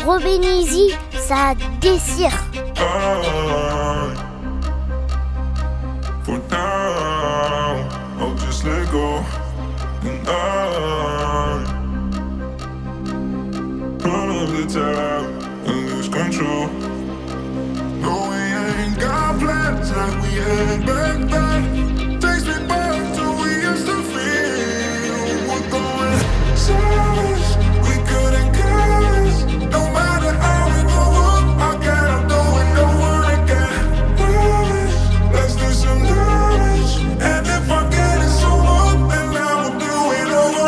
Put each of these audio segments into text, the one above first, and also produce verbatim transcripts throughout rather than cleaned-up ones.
Robenizi, ça déchire. I, for now, I'll just let go. And I run off the top and lose control. No, we ain't got plans like we had back then. Takes me back to we used to feel. We're going savage. We couldn't guess. No matter how we go up, I gotta do it over again. Damage, let's do some damage. And if I get it so up, then I will do it over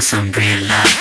some real love.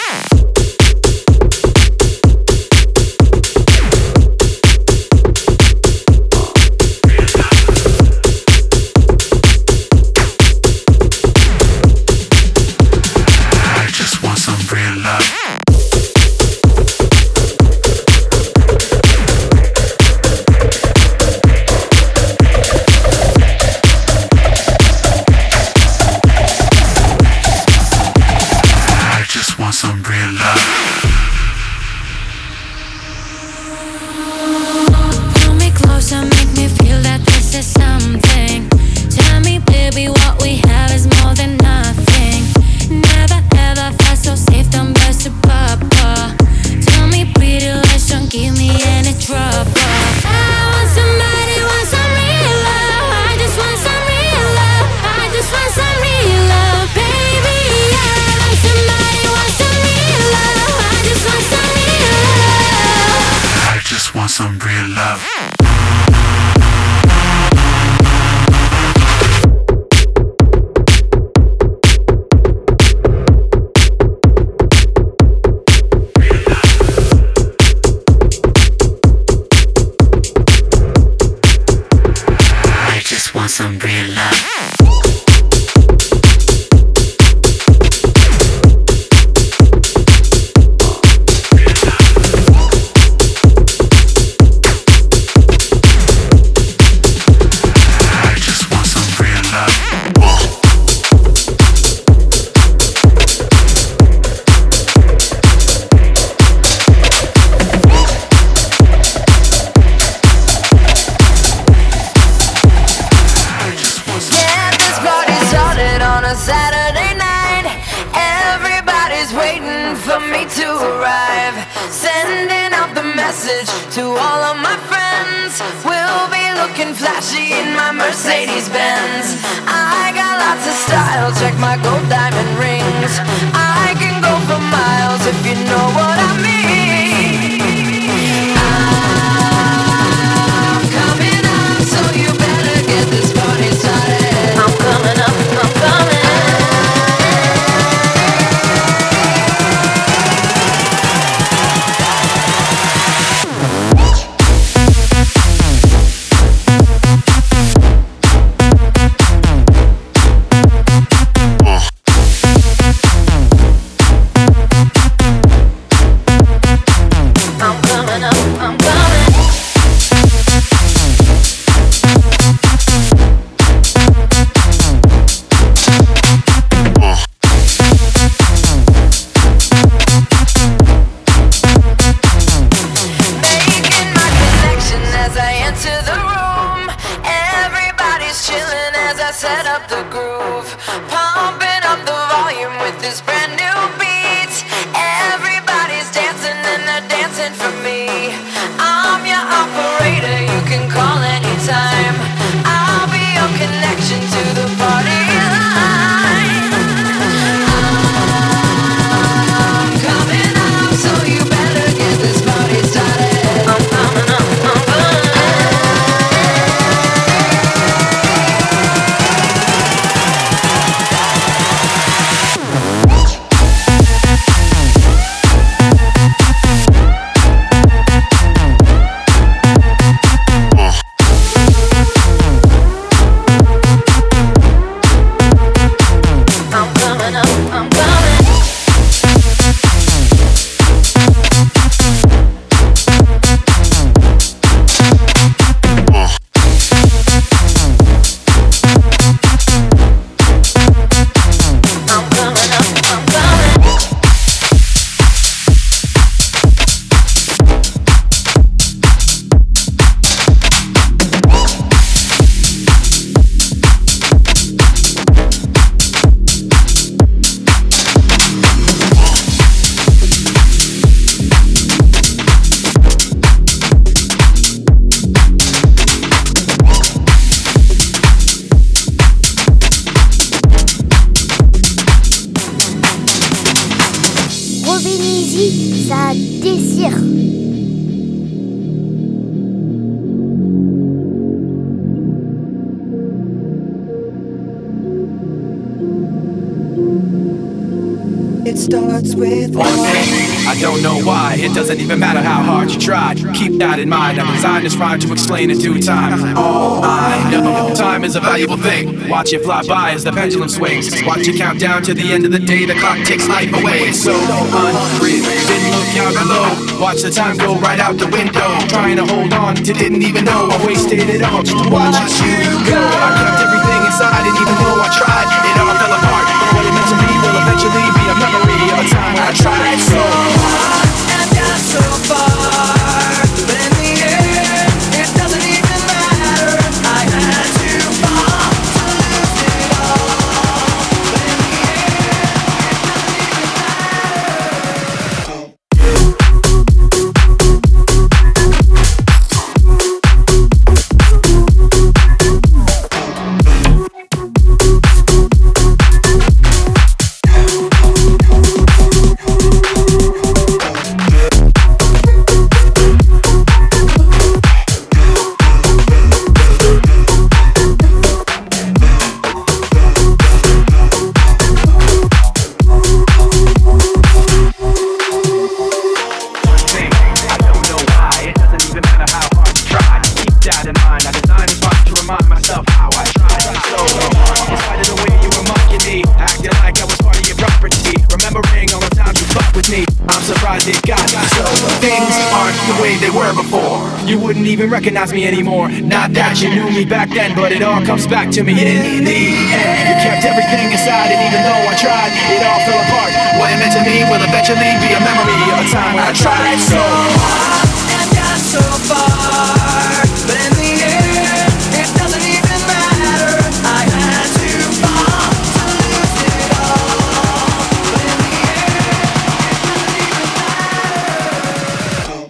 Some real love. I just want some real love. Saturday night, everybody's waiting for me to arrive. Sending out the message to all of my friends. We'll be looking flashy in my Mercedes Benz. I got lots of style, check my gold diamond rings. I can go for miles if you know what I mean. I'm coming up, so you better get this party started. I'm coming up, I'm coming. Set up the groove, pumping up the volume with this brand new beat. Everybody's dancing and they're dancing for me. I'm your operator, you can call anytime. I'll be your connection to the party line. I'm coming up, so you better get this party started. I'm coming up, I'm coming up. Robinizy, ça désire. It starts with one thing. I don't know why. It doesn't even matter how hard you try. Keep that in mind. I designed this rhyme to explain in due time. All I know, time is a valuable thing. Watch it fly by as the pendulum swings. Watch it count down to the end of the day. The clock takes life away. It's so unreal. Didn't look out below. Watch the time go right out the window. Trying to hold on to didn't even know I wasted it all just to watch you go. I kept everything inside, didn't even know I tried. It all fell apart. What it meant to me will eventually be a memory of a time when I tried so hard and got so far, but in the end, it doesn't even matter. I had to fall to lose it all, but in the end, it doesn't even matter. You wouldn't even recognize me anymore. Not that you knew me back then, but it all comes back to me in the end. You kept everything inside, and even though I tried, it all fell apart. What it meant to me will eventually be a memory of a time when I tried so hard and got so far, but in the end, it doesn't even matter. I had to fall to lose it all, but in the end, it doesn't even matter.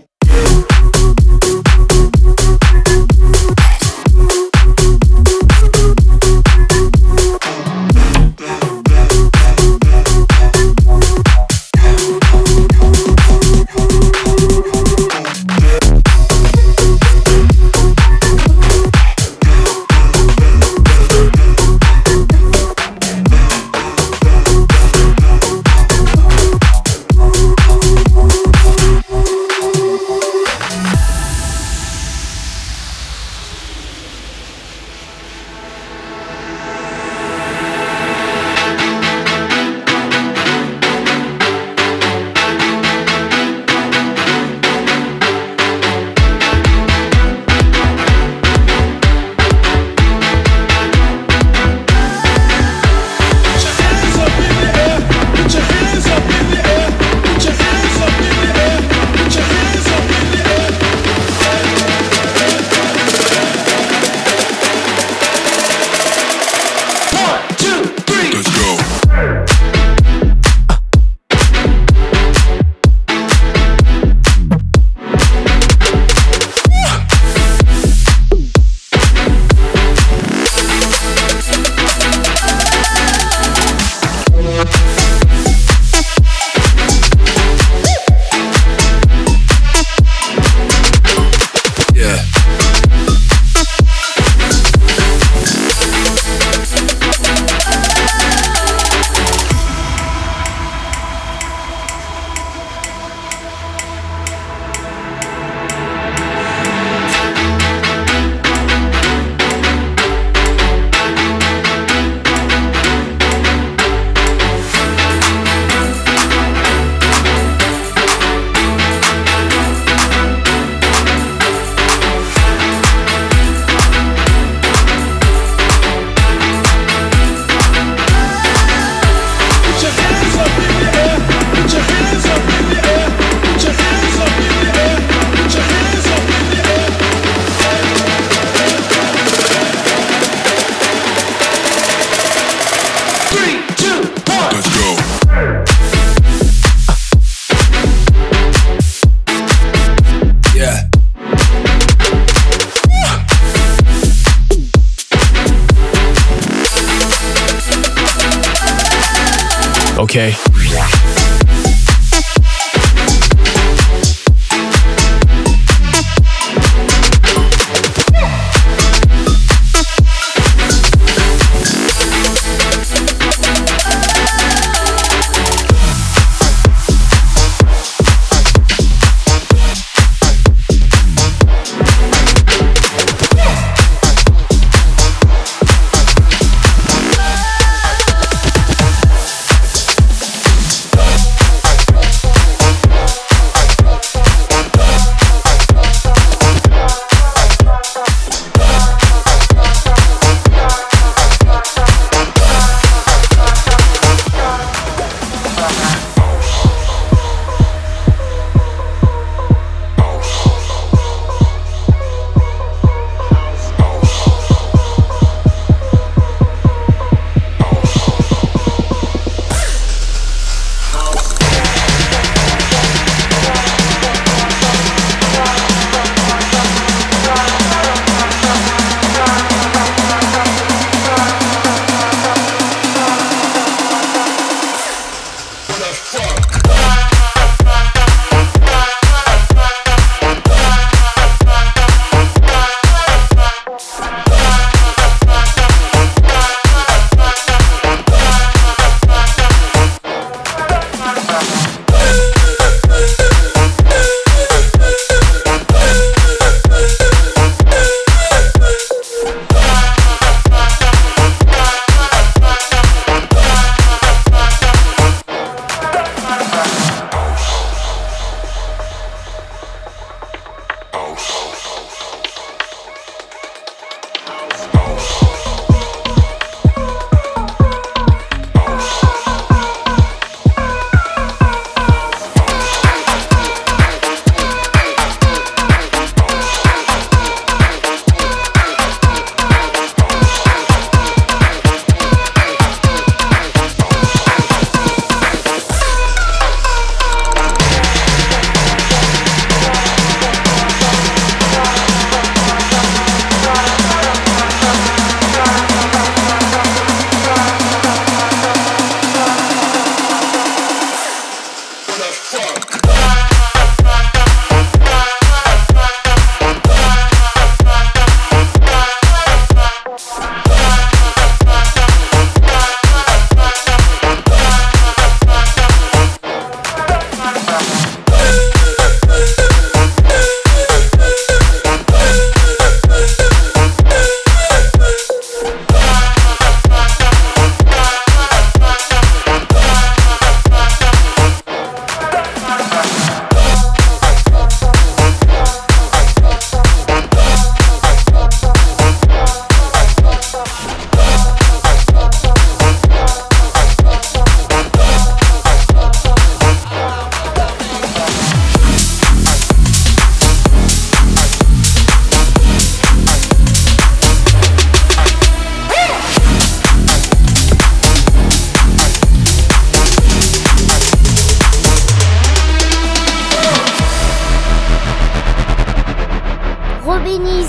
Okay.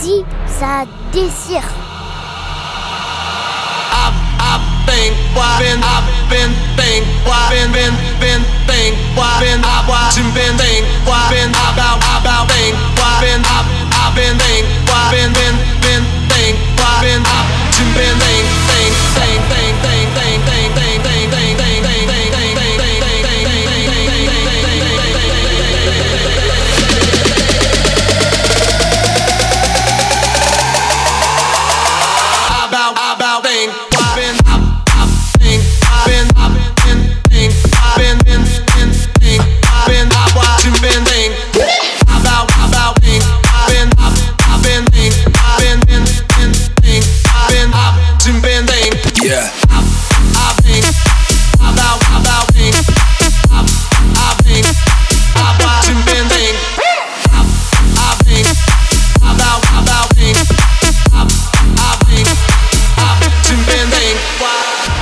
Ici, ça déchire. Think, why been, I've been, think, why been, been, been, think, why been, I've watching, been, think, why been, about, about, think, why been, I've, I've been, think, why been, been, been, think, why been, I've been, think, think, think, think, think, think, think, think, think, think, think, think, think, think, about, about, think, why been, I've been, I've been, think, I've been, been, been, think, I've been, I've watching, been, think, about, about, think, I've been, I've, I've been, think, I've been, been, been, think, I've been, I've watching, been, think, Yeah. I've, I've think, about, about, think, I've, I've think, I've watching, been, think, I've, I've think, about, about, think, I've, I've think, I've watching, been, think, why?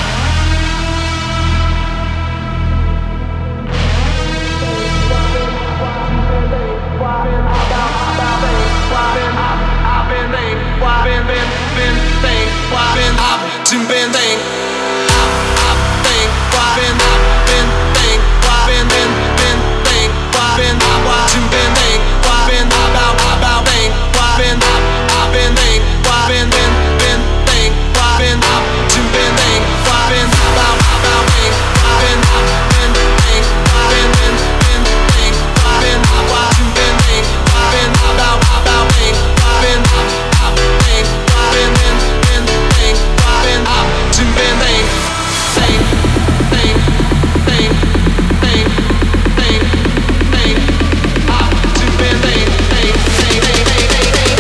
Been been thing, I I think, why been I been think, why been been been think, why been I watching been think, why been about about think, why been I I been think, why been been been think, why been I watching been think, why been about about think, why been I been think, why been been been think, why been I watching been think, why been about about think, why been I I think, why been been been think, why been I watching been think, think, think, think, think, think, think, I watching been think, think, think, think, think, think,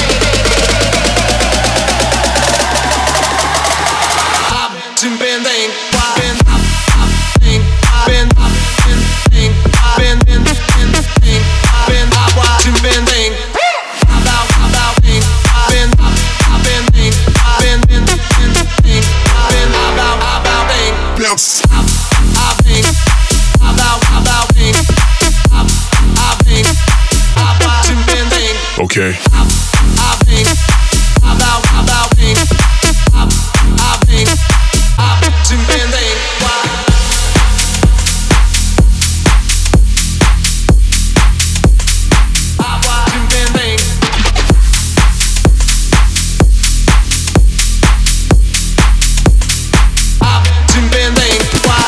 I watching been think, why been I I think, I been I been think, I been been been think, I been I watching been think, about about think, I been I I been think, I been been been think, I been about about think, bounce, I I think, about about think, I I think, I watching been think, Okay. I I think, about about think, I I think, I watching been think, why? I watching been think. I watching been think, why?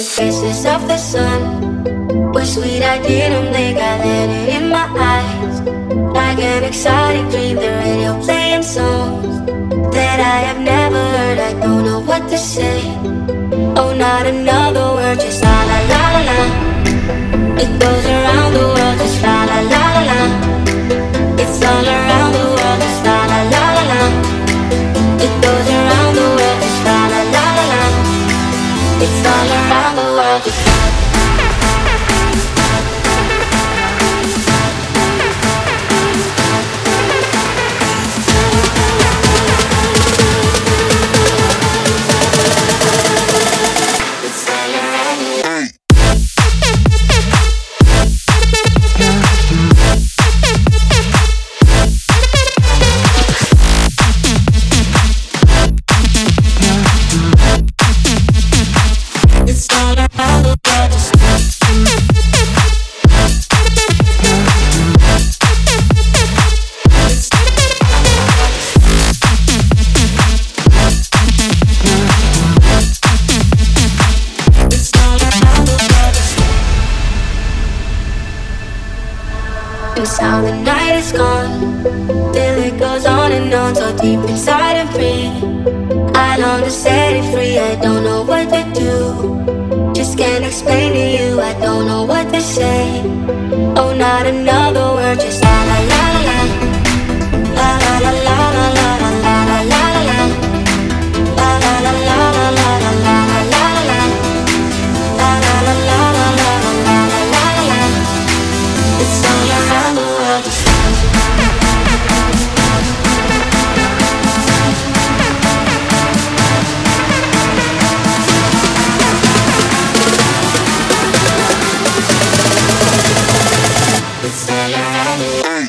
the faces of the sun were sweet, I didn't blink, I let it in my eyes. Like an exciting dream, the radio playing songs that I have never heard, I don't know what to say. Oh, not another word, just la la la la la. It goes around the world, just la la la la la. It's all around the world, just la la la la la. It goes around the world, just la la la la la. It's all around the world, just la. How the night is gone, till it goes on and on, so deep inside of me. I long to set it free, I don't know what to do. Just can't explain to you, I don't know what to say. Oh, not another word, just la la la la la. La la la la la la la la la la la. La la la la la la la la la la la. La la la la la la la la la la. It's all around the world. It's all around the world.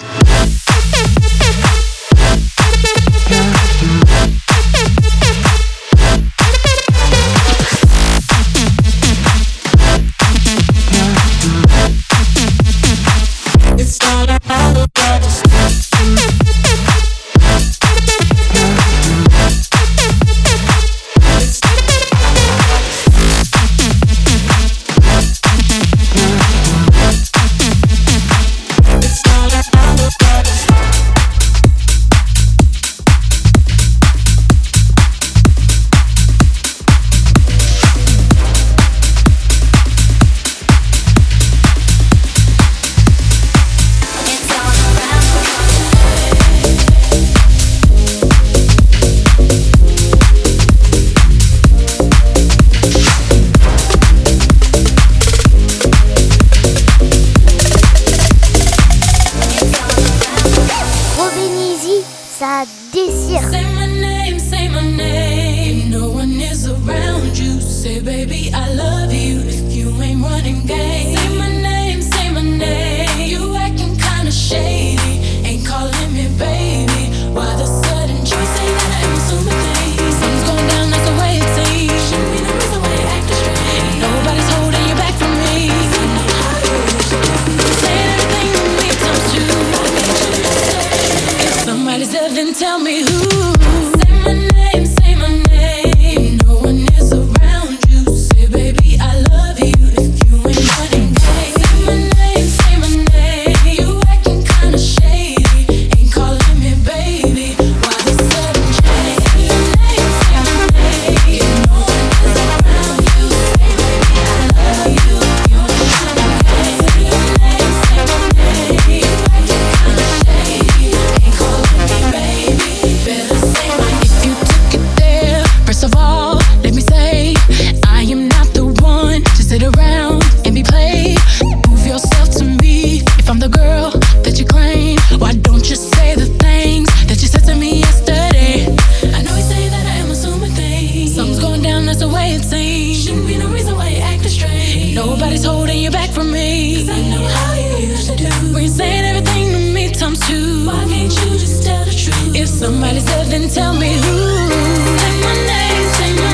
Tell me who. Say my name, say my name. No one is around you. Say, baby, I love you. If you ain't running gay. Say my name, say my name. You acting kinda shady. Ain't calling me baby. Why the sudden change? Say my name, say my name. No one is around you. Say, baby, I love you. If you ain't running gay. Say my name, say my name. You acting kinda shady. Ain't calling me baby. Better say my name. If you took it there, first of all, let me say I am not the one to sit around and be played. Prove yourself to me. If I'm the girl that you claim, why don't you say the things that you said to me yesterday? I know you say that I am assuming things. Something's going down, that's the way it seems. Shouldn't be no reason why you're acting strange. Nobody's holding you back from me. Cause I know how you used to do. When you're saying everything to me times two. Why can't you just tell the truth? If somebody's there, then tell me who. Say my name, say my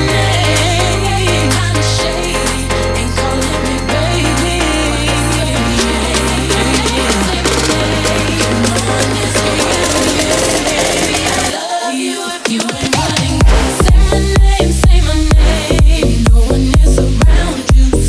name. Kinda shady, ain't calling me baby. Say my name, no one is around you. Baby, I love you if you ain't running. Say my name, say my name. No one is around you.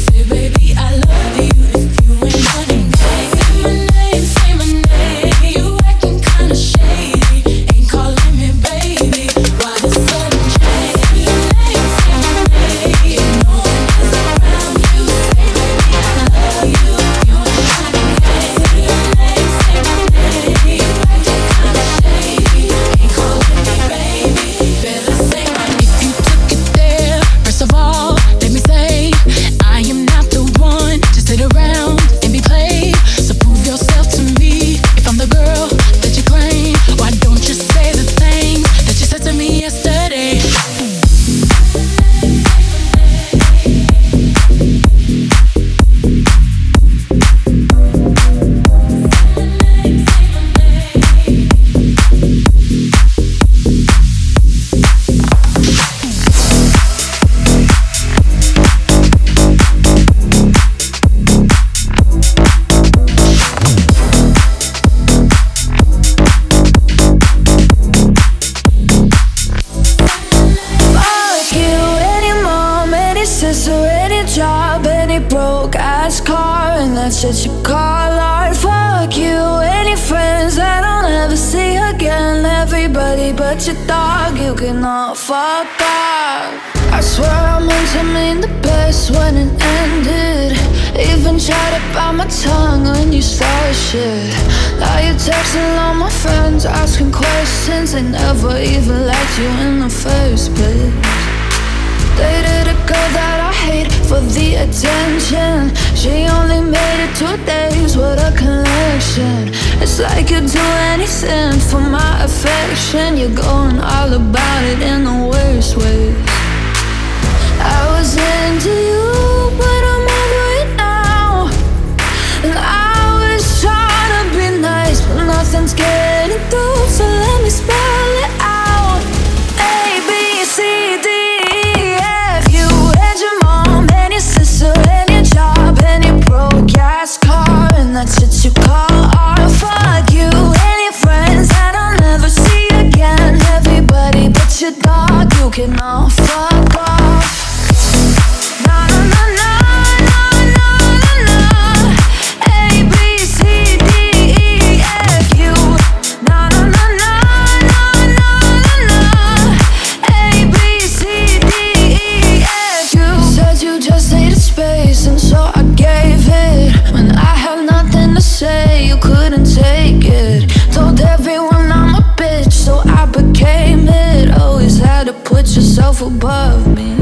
everybody but your dog. You can all fuck off. I swear I meant to mean the best when it ended. Even tried to bite my tongue when you started shit. Now you're texting all my friends, asking questions. They never even liked you in the first place. Dated a girl that I hate for the attention. She only made it two days with a connection. It's like you'd do anything for my affection. You're going all about it in the worst ways. I was into you, but I'm over it now. And I was trying to be nice, but nothing's getting through. So let me spell it out. A, B, C, D, E, F. You and your mom and your sister and your job and your broke ass car, and that's what you call art. Fuck you and your friends that I'll never see again. Everybody but your dog, you can all fuck off. Na na na na na na na na. A B C D E F U. Na na na na na na na na. A B C D E F U. Said you just needed space, and so I gave it. When I had nothing to say, you couldn't take it. Told everyone I'm a bitch, so I became it. Always had to put yourself above me.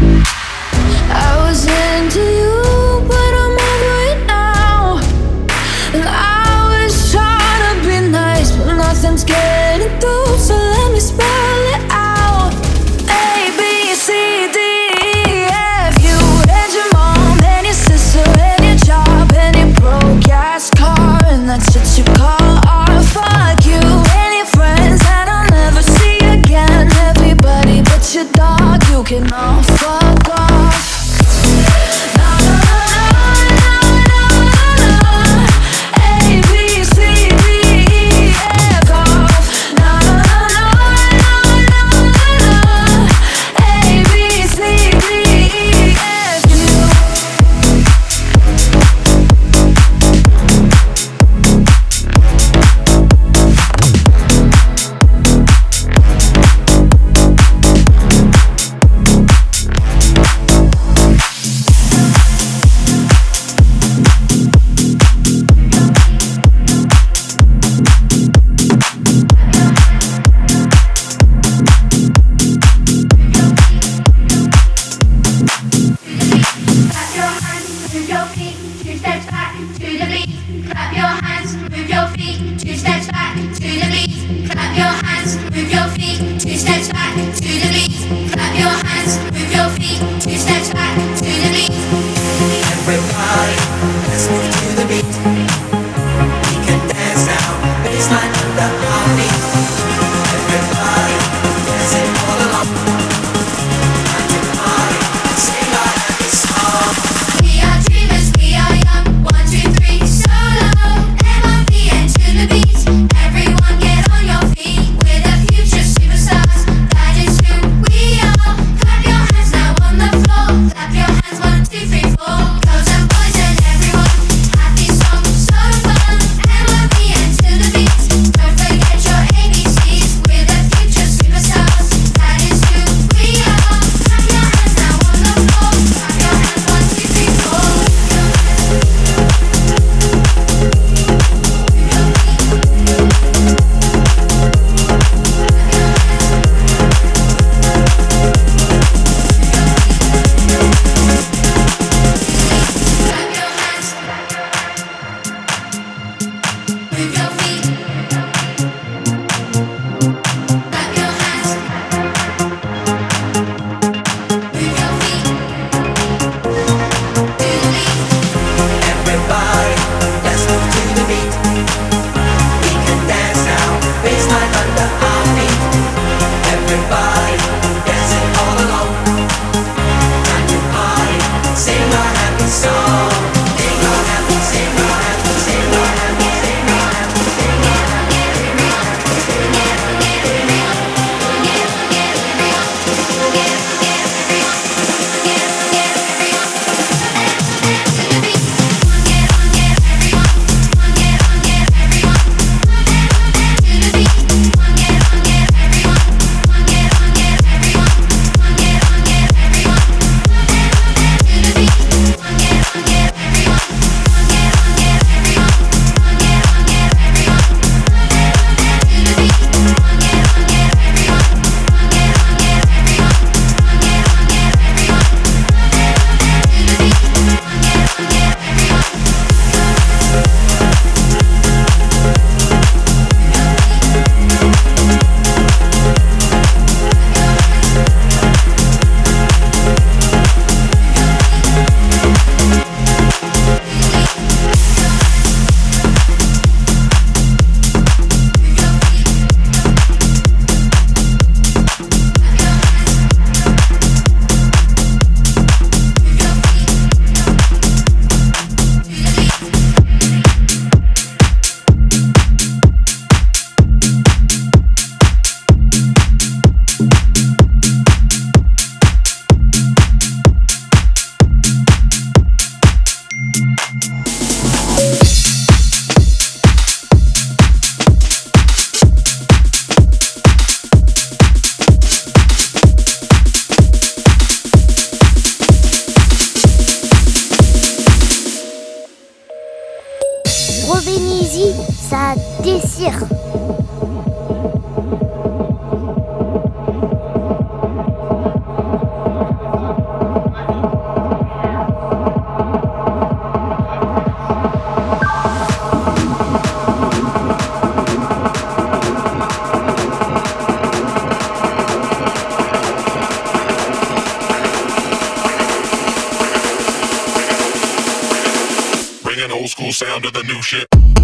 I was into you, but I'm over it now. And I was trying to be nice, but nothing's getting through. So let me spell it out. A, B, C, D, E, F. You and your mom and your sister and your job and your broke ass car, and that's what you call art. Fuck you and your friends that I'll never see again. Everybody but your dog, you can all fuck off. A, B, C, D, E, F off. désir. Old school sound of the new shit.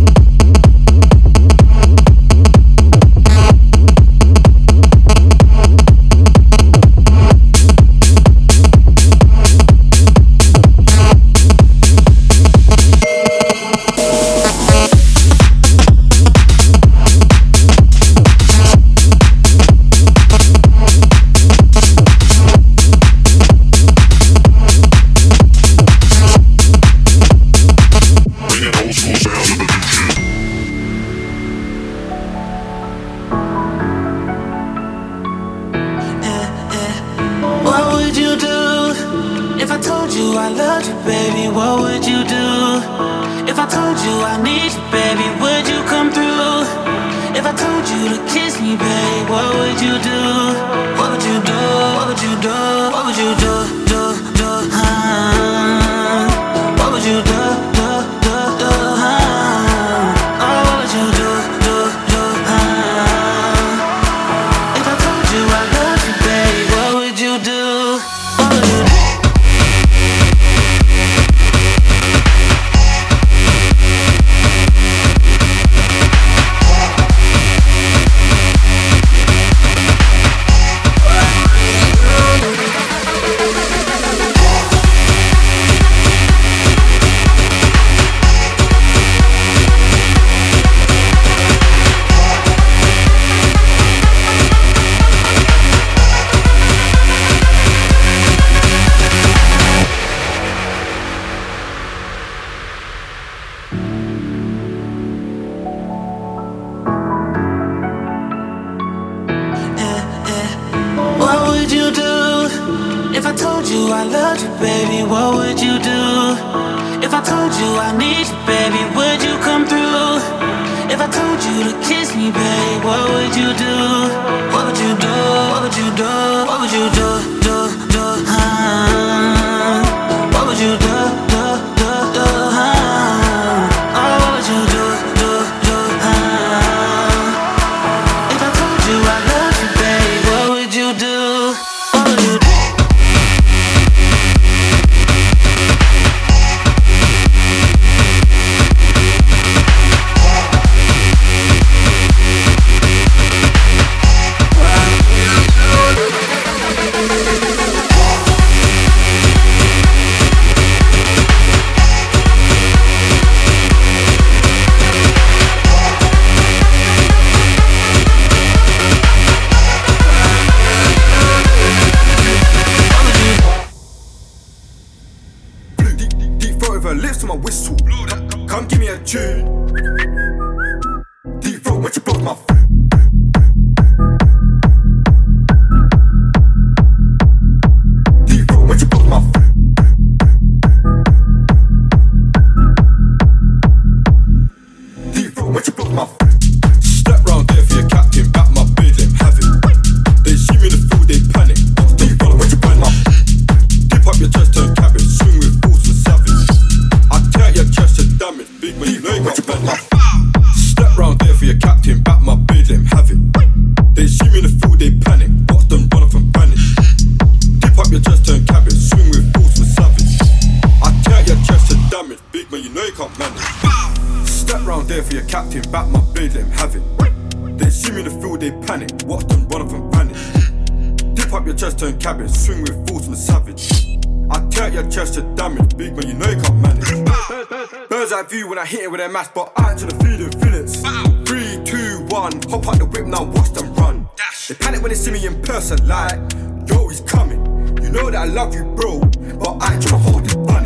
When I hit it with a mask, but I ain't to the feeling feelings. Three, two, one, hop out the whip now, watch them run. They panic when they see me in person, like, yo, he's coming. You know that I love you, bro, but I ain't tryna hold it bunny.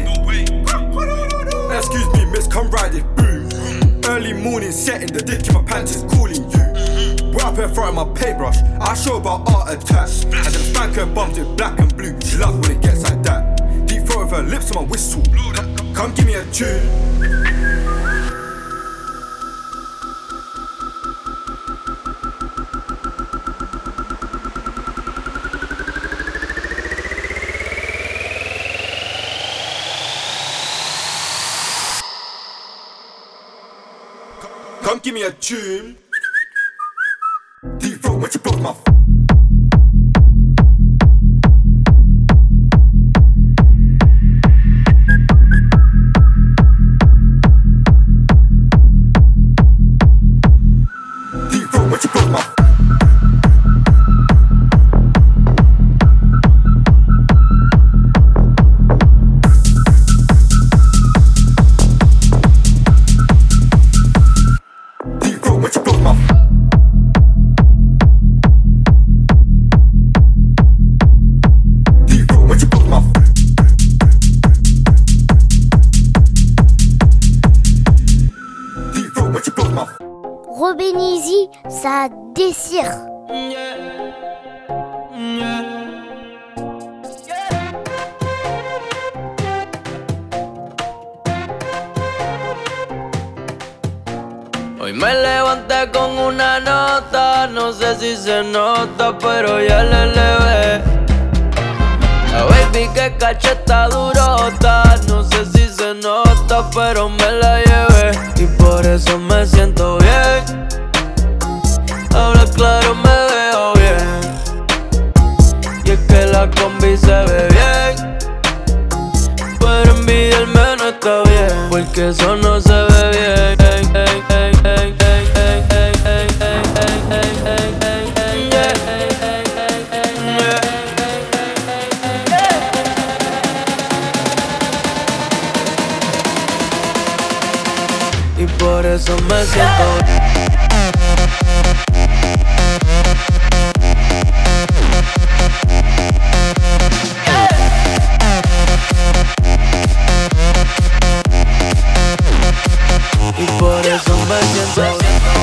Excuse me, miss, come ride it, boom. Early morning setting, the dick in my pants is calling you. We're up in front of my paintbrush, I show about art attack. And then spank her bumps it black and blue. She loves when it gets like that. Deep throat with her lips on my whistle. Come give me a tune. Come give me a tune. Deep throat when you broke my f- Deep throat when you broke my f- Deep throat when you broke my f- Deep throat when you broke my f- Deep throat when you broke my f- Robin Easy, ça déchire. Hoy me levanté con una nota, no sé si se nota, pero ya le elevé. La baby que caché está durota, no sé si se nota, pero me la llevé. Y por eso me siento bien, habla claro me veo bien. Y es que la combi se ve bien, pero envidiarme no está bien, porque eso no se ve bien. Y por eso me siento Y por eso me siento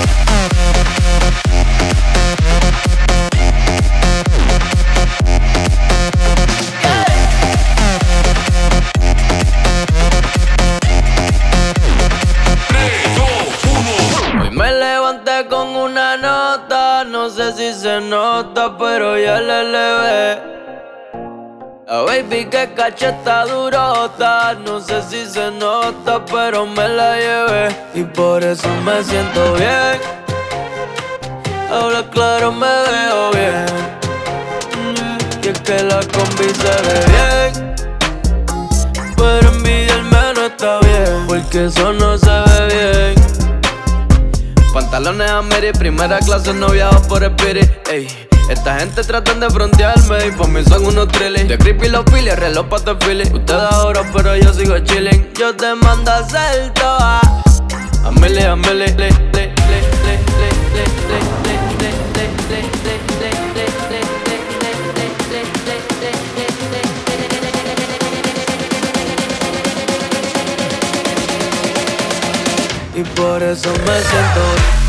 Hoy me levanté con una nota, no sé si se nota, pero ya le elevé. La baby que caché está durota, no sé si se nota, pero me la llevé. Y por eso me siento bien, habla claro me veo bien. Y es que la combi se ve bien, pero envidiarme no está bien, porque eso no se ve bien. Pantalones a Mary, primera clase, no viajo por Spirit, ey. Esta gente tratan de frontearme y por mí son unos trillis. De creepy los files, reloj pa' te Philly. Ustedes ahora, pero yo sigo chilling. Yo te mando a hacer toa a Milly, a Milly, le, le, le, le, le, le, le, le, le, le, le, le. Y por eso me siento